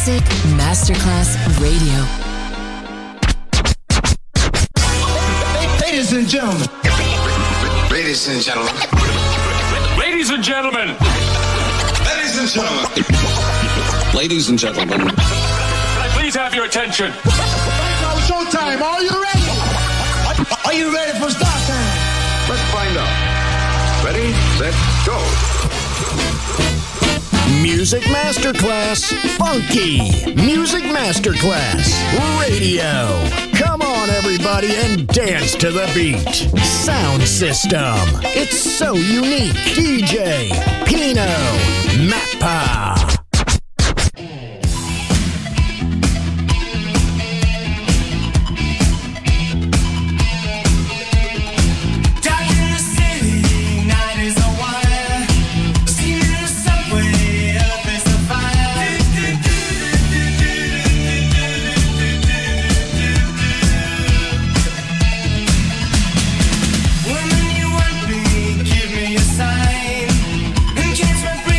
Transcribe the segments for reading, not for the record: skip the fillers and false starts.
Music Masterclass Radio. Ladies and gentlemen. Ladies and gentlemen. Ladies and gentlemen. Ladies and gentlemen. Ladies and gentlemen. Can I please have your attention? Now showtime. Are you ready? Are you ready for start time? Let's find out. Ready, set, go. Music Masterclass Funky. Music Masterclass Radio. Come on, everybody, and dance to the beat. Sound system. It's so unique. DJ Pino Mappa. Woman, you want me, give me a sign. And catch my breath.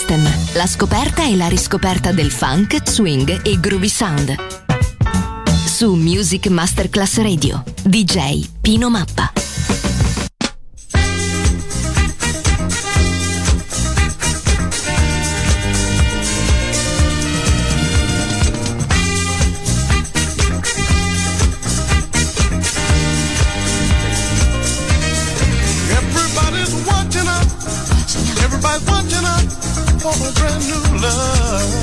System, la scoperta e la riscoperta del funk, swing e groovy sound. Su Music Masterclass Radio, DJ Pino Mappa. For a brand new love.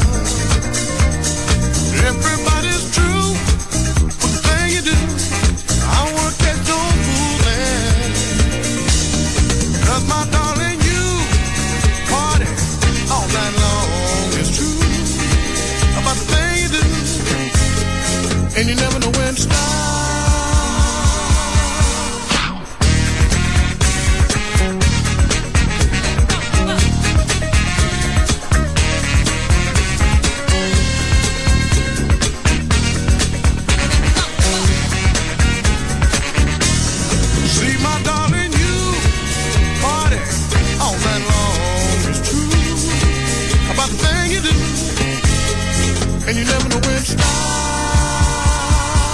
Everybody's true with the thing you do. I wanna catch your fooling. 'Cause my darling, you party all night long. It's true about the thing you do, and you never know when to stop. And you never know when to stop.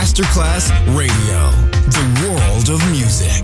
Masterclass Radio, the world of music.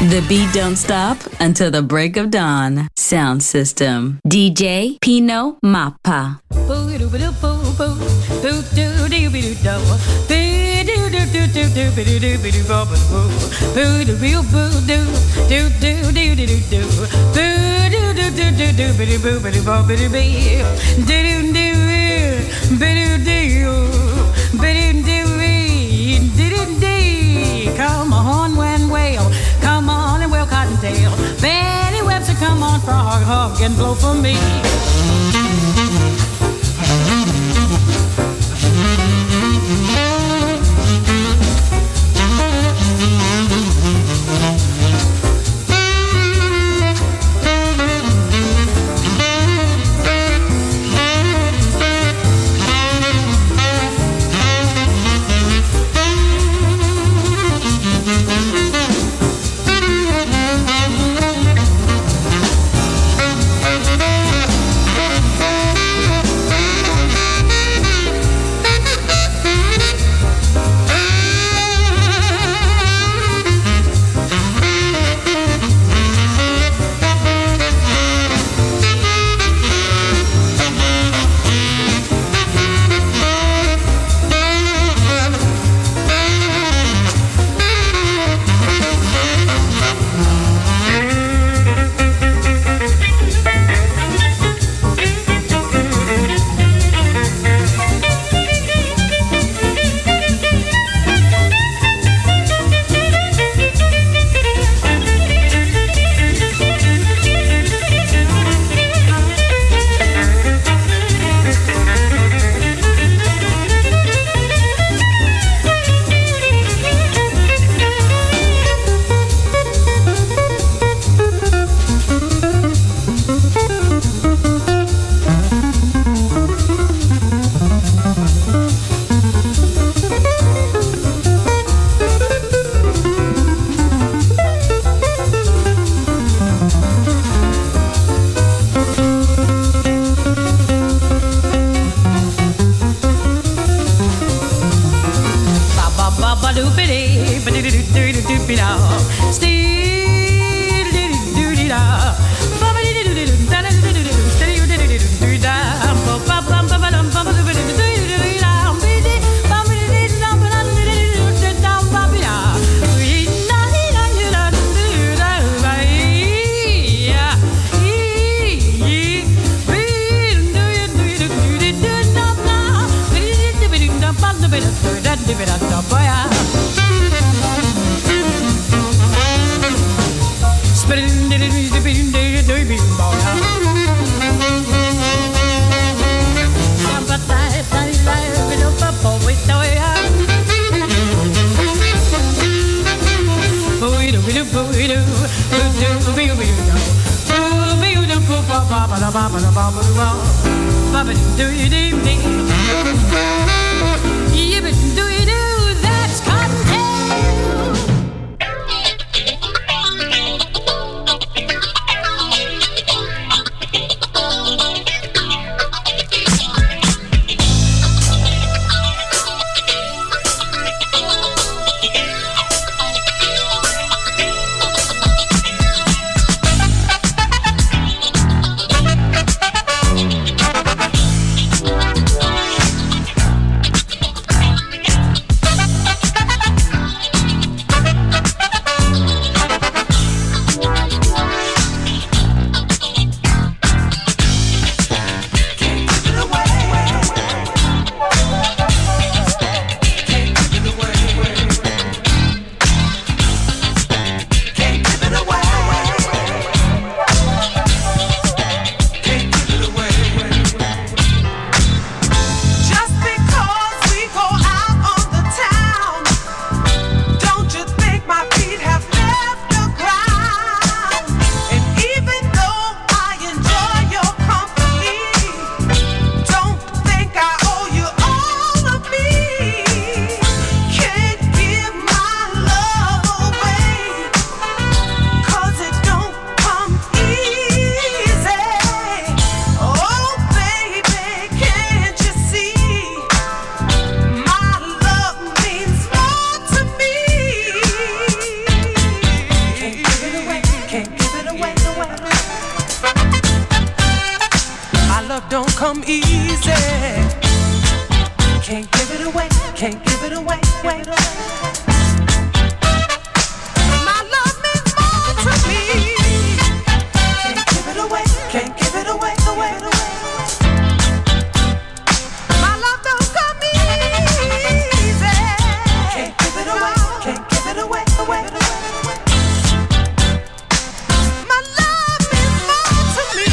The beat don't stop until the break of dawn. Sound system. DJ Pino Mappa. Come on, when whale, come on and wail cottontail. Betty Webster, come on, frog, hug and blow for me. That's Cottontail. come easy. Can't give it away, can't give it away, wait. My love means more to me. Can't give it away, can't give it away, away. My love don't come easy. Can't give it away, can't give it away, away. My love means more to me.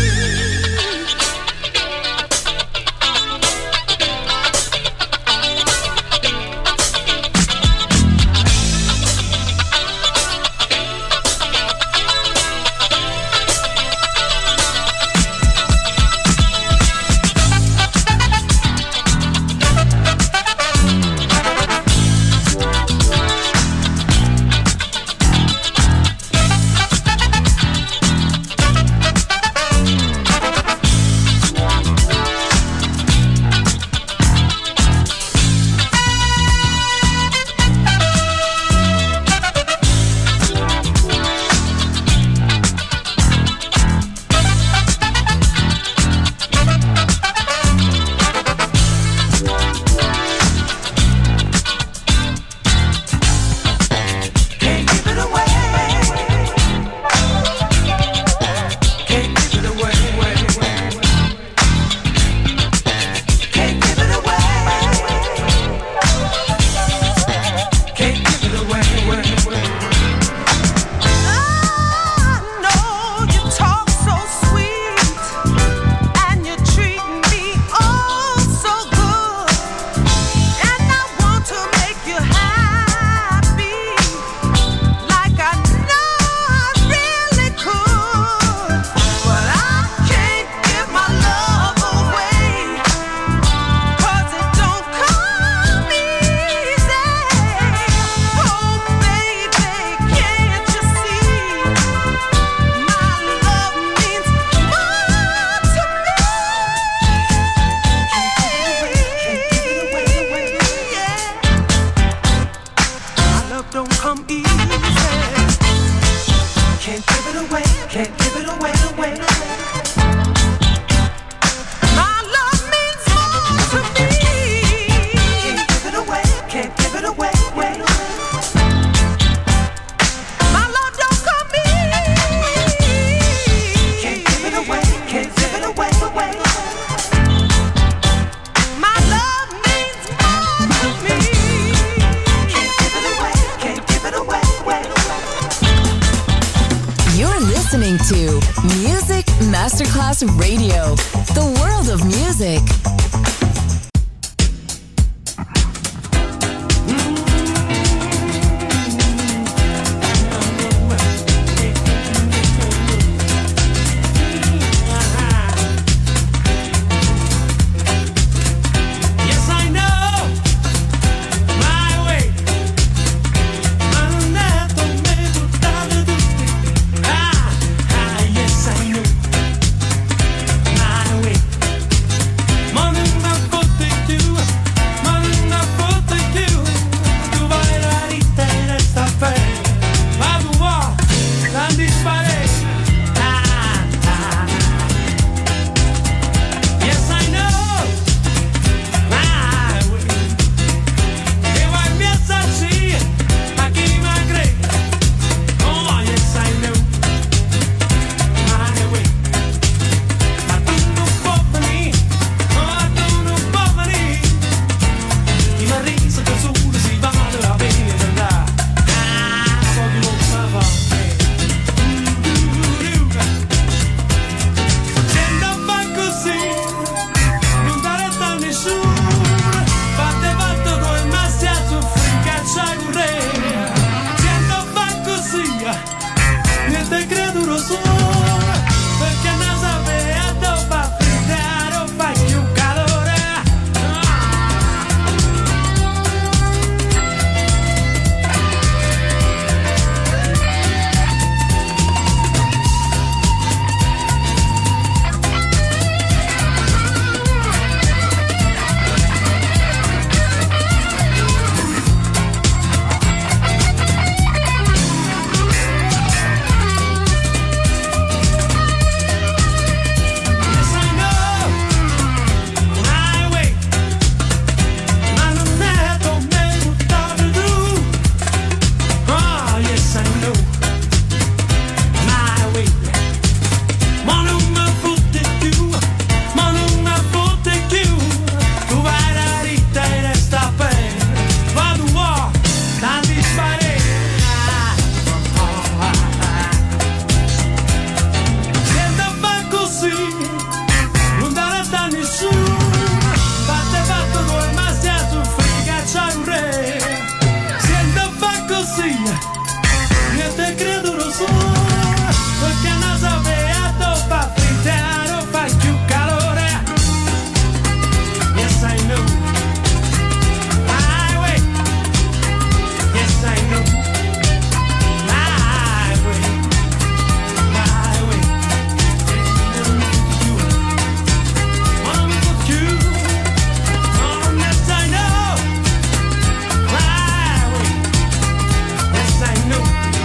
To Music Masterclass Radio, the world of music. Morning sì, io te credo lo so, perché non sapevo fa frittare, fa più calore. Yes, I know. Highway. Yes, I know. Highway. Highway. One for you. Oh, yes, I know. Highway. Yes, I know.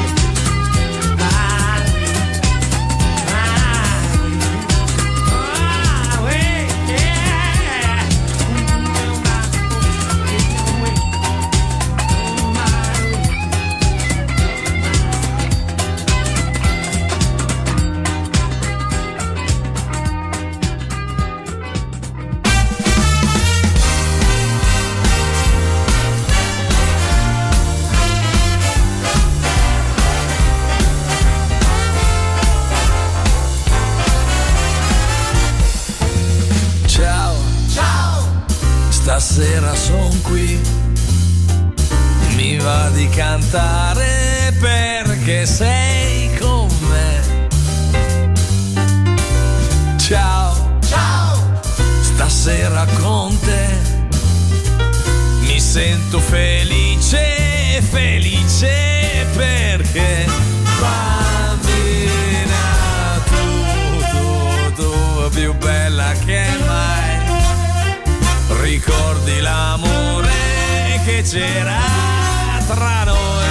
Stasera son qui, mi va di cantare perché sei con me. Ciao, ciao, stasera con te mi sento felice, felice perché bambina tu più bella che mai. Ricordi l'amore che c'era tra noi,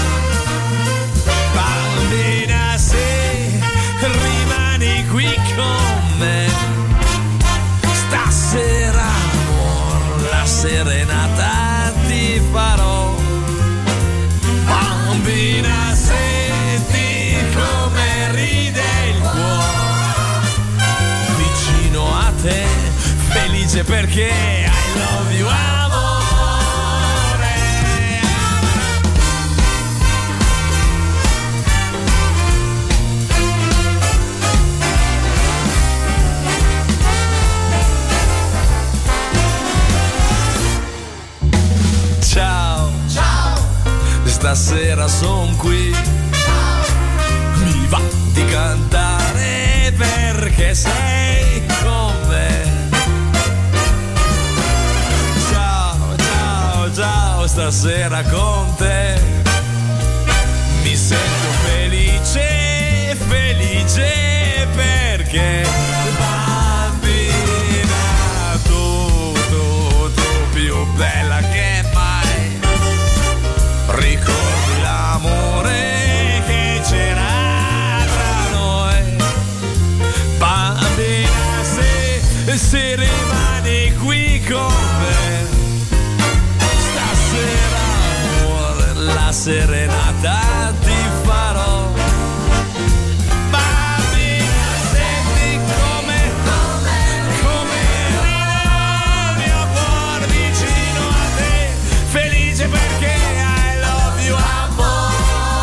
bambina, se rimani qui con me, stasera amor, la serenata ti farò. Bambina, senti come ride il cuore, vicino a te, felice perché I love you, amore. Ciao, ciao, stasera son qui. Ciao. Mi va di cantare perché sei con me. Ciao, stasera con te mi sento felice, felice perché bambina tu più bella che mai. Ricordi l'amore che c'era tra noi, bambina, se rimani qui con me, la serenata ti farò. Bambina, senti come ride il mio cuore vicino a te, felice perché I love you, amore.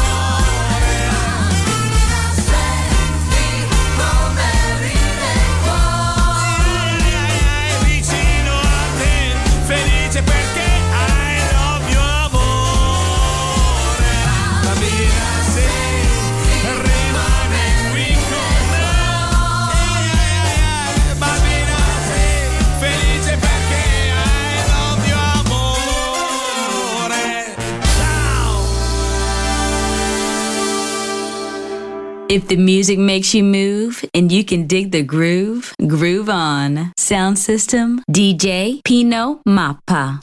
Senti come ride il cuore vicino a te, felice perché If the music makes you move and you can dig the groove, groove on. Sound system, DJ Pino Mappa.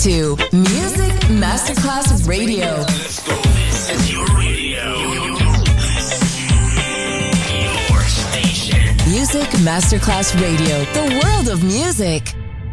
to Music Masterclass Radio. Let's go. This is your radio. Your station. Music Masterclass Radio. The world of music.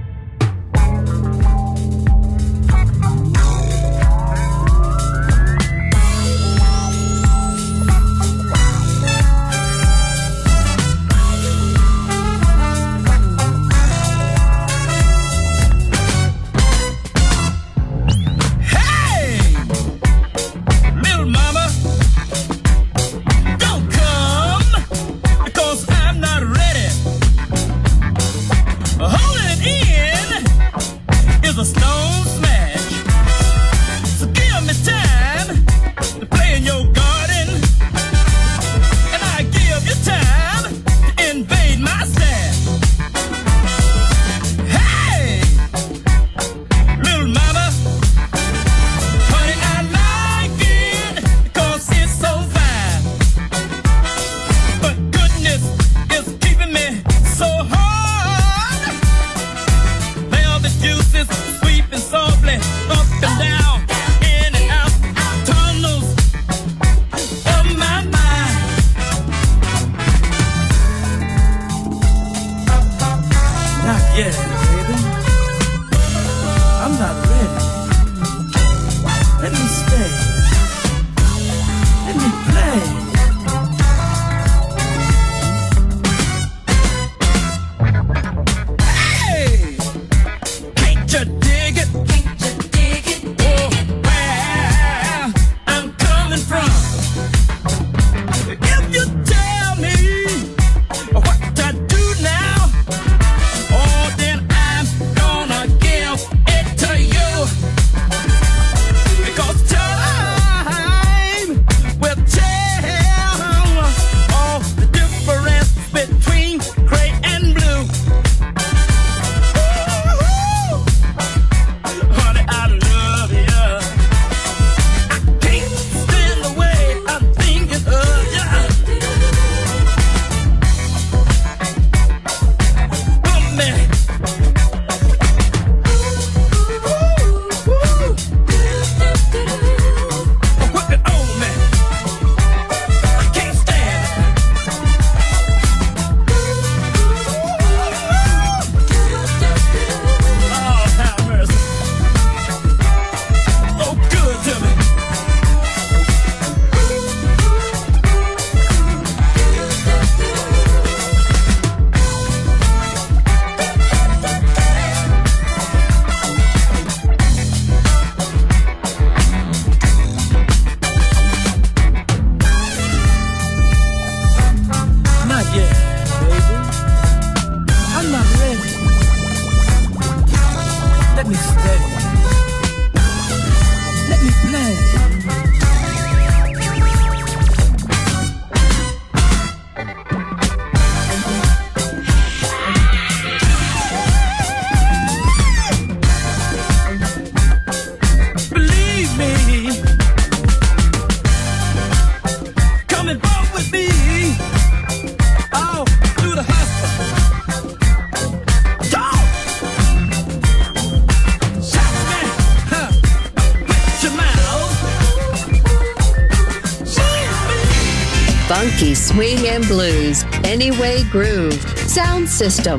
Funky swing and blues, Anyway Groove, Sound System.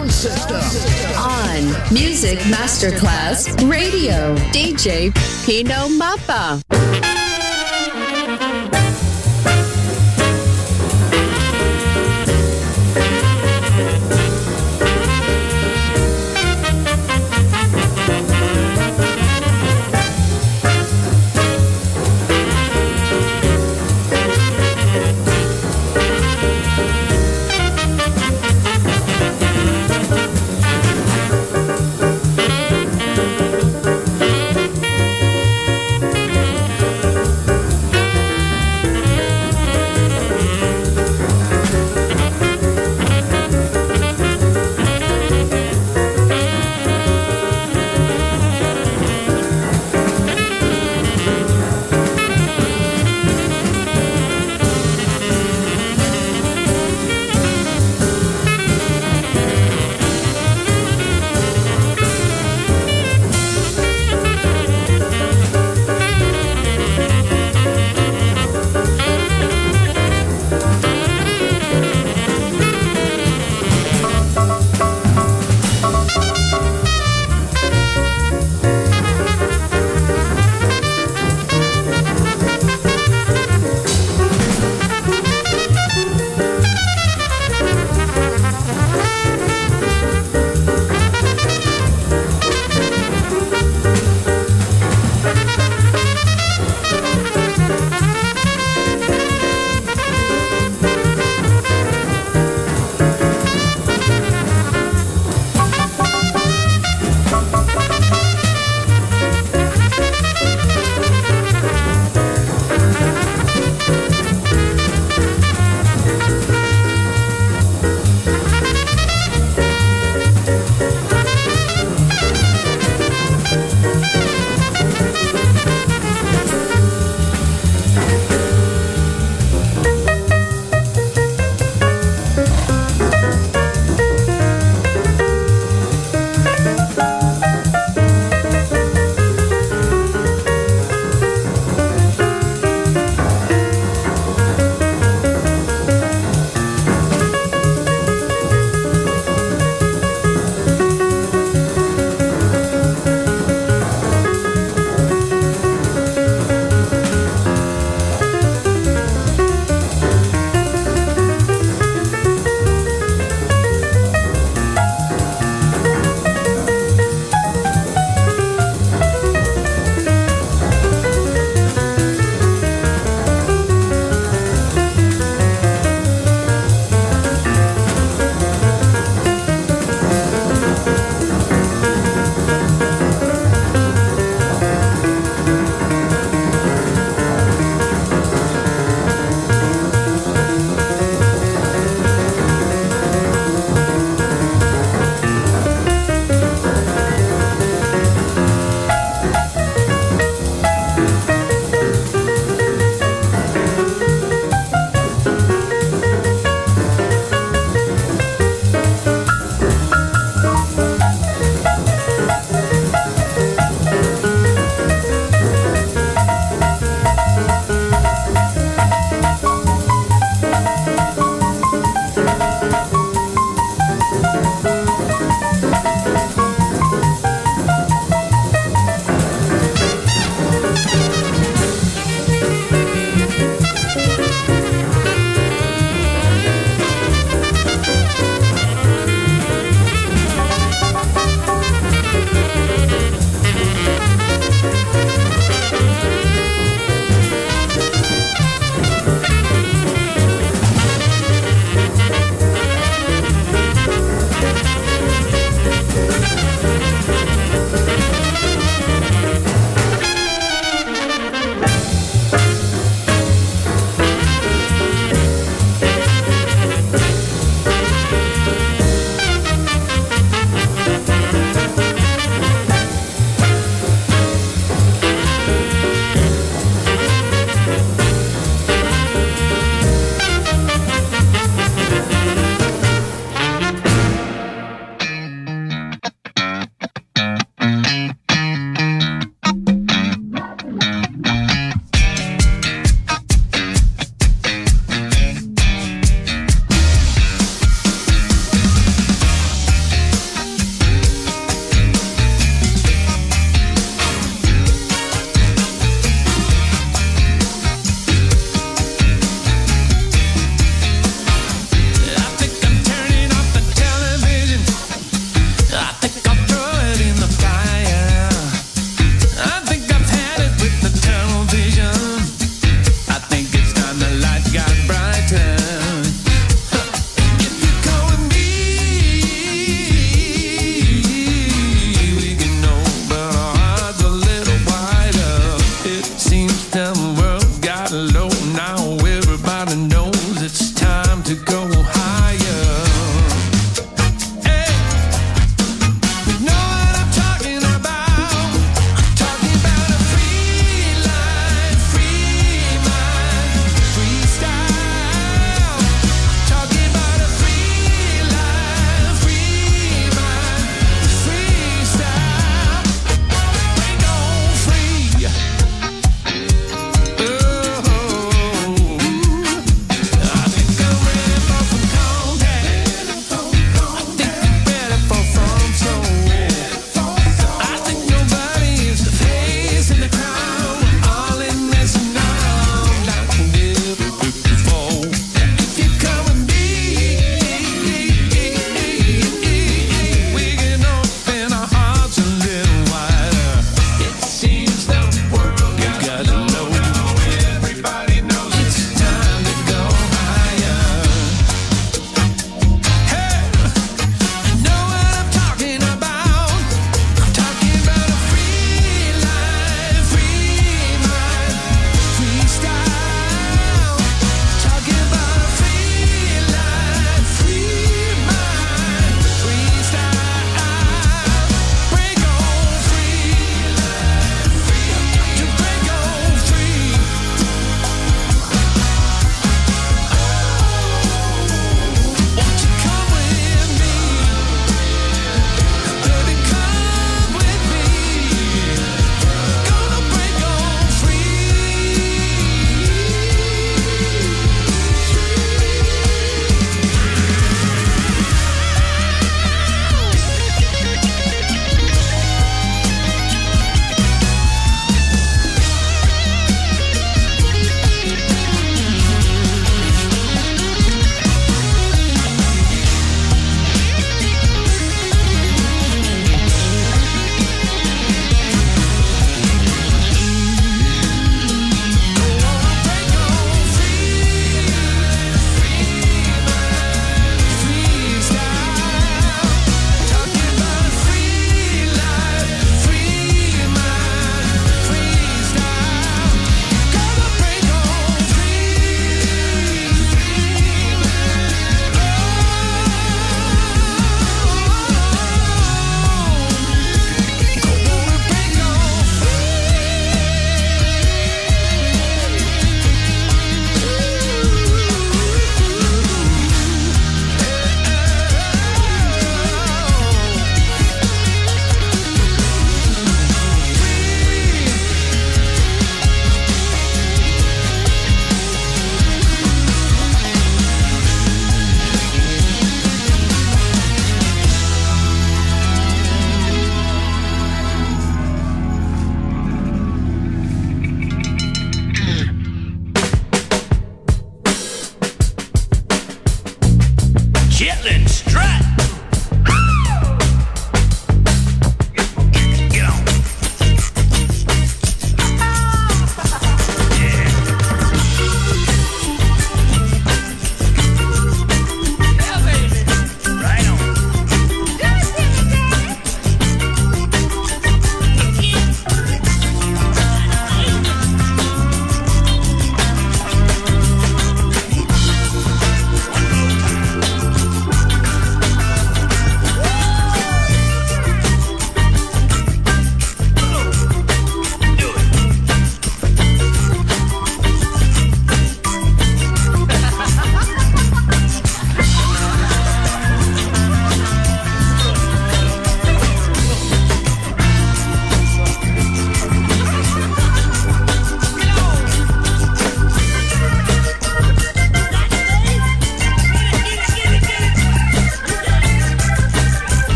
On Music Masterclass Radio, DJ Pino Mappa.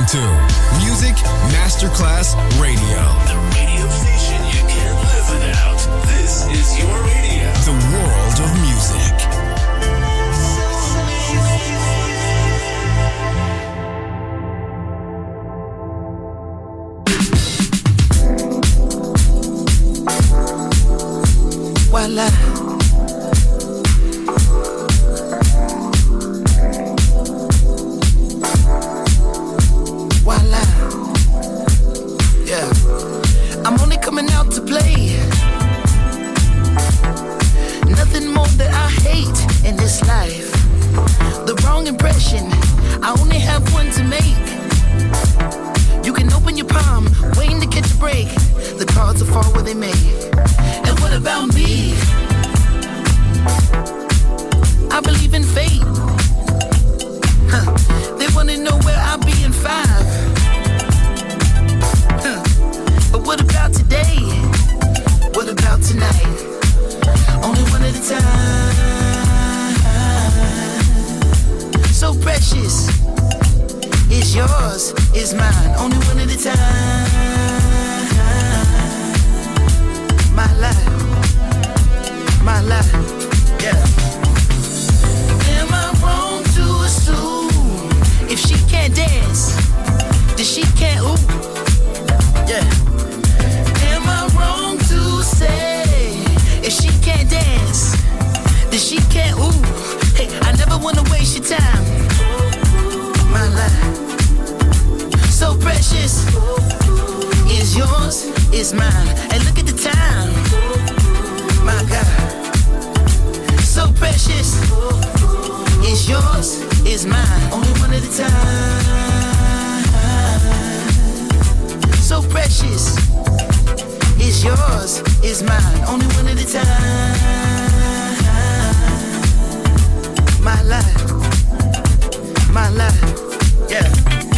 to Music Masterclass Radio. The radio station you can't live without. This is your radio. The world of music. Voila. Voila. Yeah. I'm only coming out to play. Nothing more that I hate in this life. The wrong impression, I only have one to make. You can open your palm, waiting to catch a break. The cards will fall where they may. And what about me? I believe in fate. They wanna know where I'll be in 5. But what about today? What about tonight? Only one at a time. So precious. It's yours, it's mine. Only one at a time. My life. My life. Yeah. Am I wrong to assume if she can't dance, then she can't ooh? Yeah. Am I wrong to say if she can't dance, then she can't ooh? Hey, I never wanna waste your time. My life, so precious, is yours, is mine. And look at the time. My God, so precious, is yours, is mine. Only one at a time. So precious, is yours, is mine. Only one at a time. My life, my life, yeah.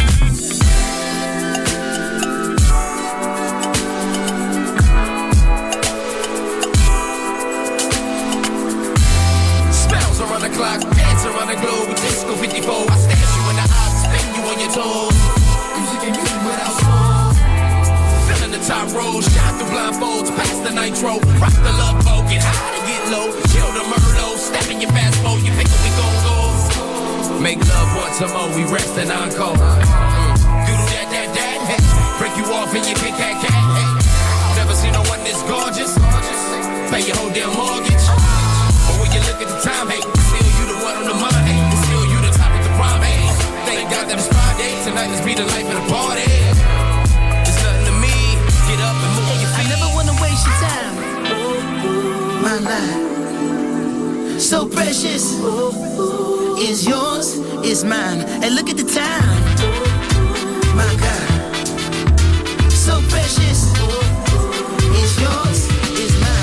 Around the clock, dance around the globe with Disco 54. I stash you in the eyes, spin you on your toes. Music ain't music without soul. Filling the top rows, shine through blindfolds, pass the nitro, rock the love boat, get high to get low, chill the Merlot, step in your fast mode, you pick up, we gon' go. Make love once more, we rest and encore. Doodle that, hey. Break you off and you pick that cat, hey. Never seen no one this gorgeous. Pay your whole damn mortgage. But when you look at the time, hey, still you the one on the mind, hey. Still you the top of the prime, hey. Thank God that it's Friday, tonight let's be the life of the party. It's nothing to me, get up and move on your feet. I never wanna waste your time. My life, so precious, is yours, is mine. And look at the time. My God, so precious, is yours, is mine.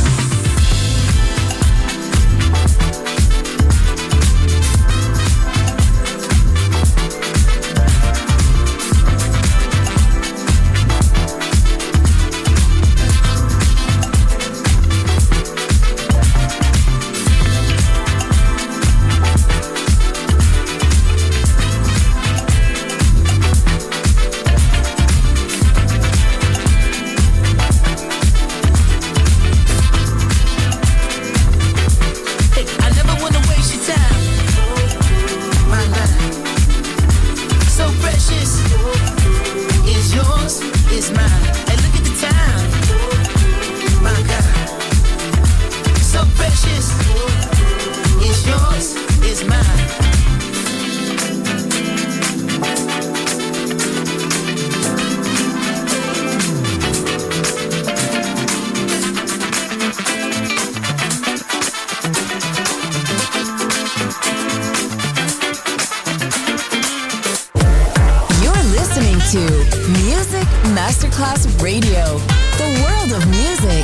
Masterclass Radio, the world of music.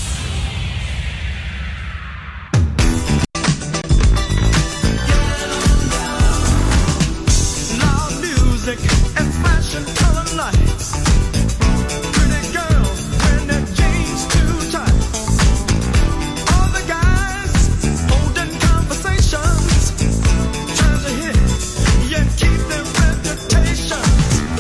Loud music and fashion color lights. Pretty girls wearing their jeans too tight. All the guys holding conversations, trying to hit, yet keep their reputations.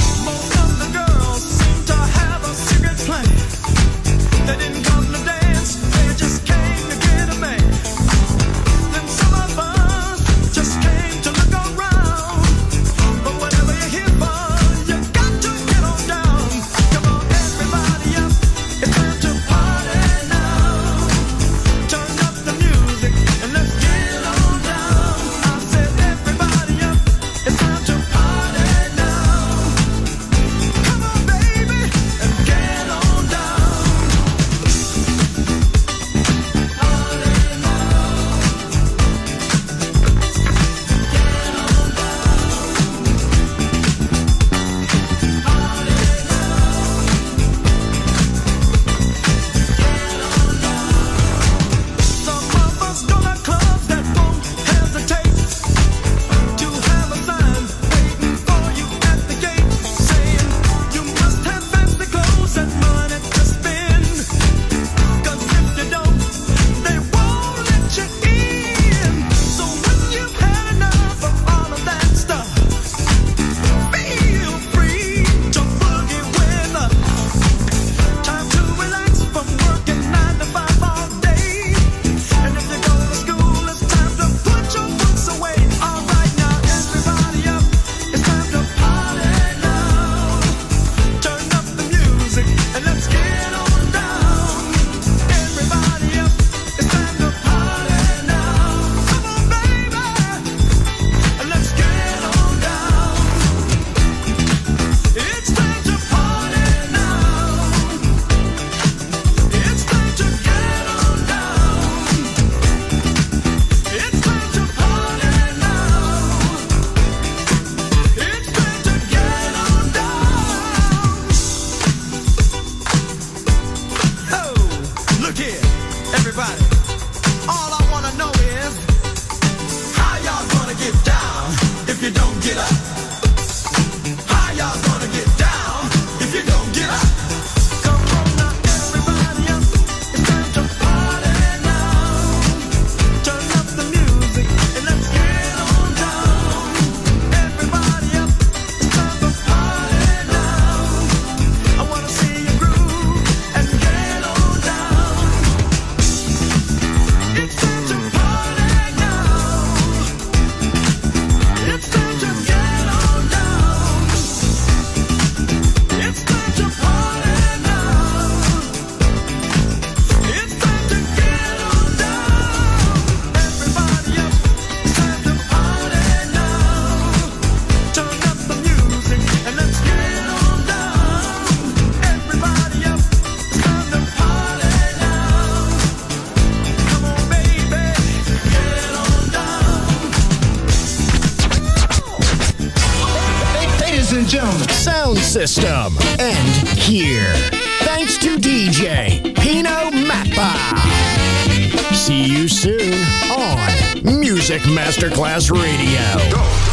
and gentlemen, sound system, and here. Thanks to DJ Pino Mappa. See you soon on Music Masterclass Radio. Go.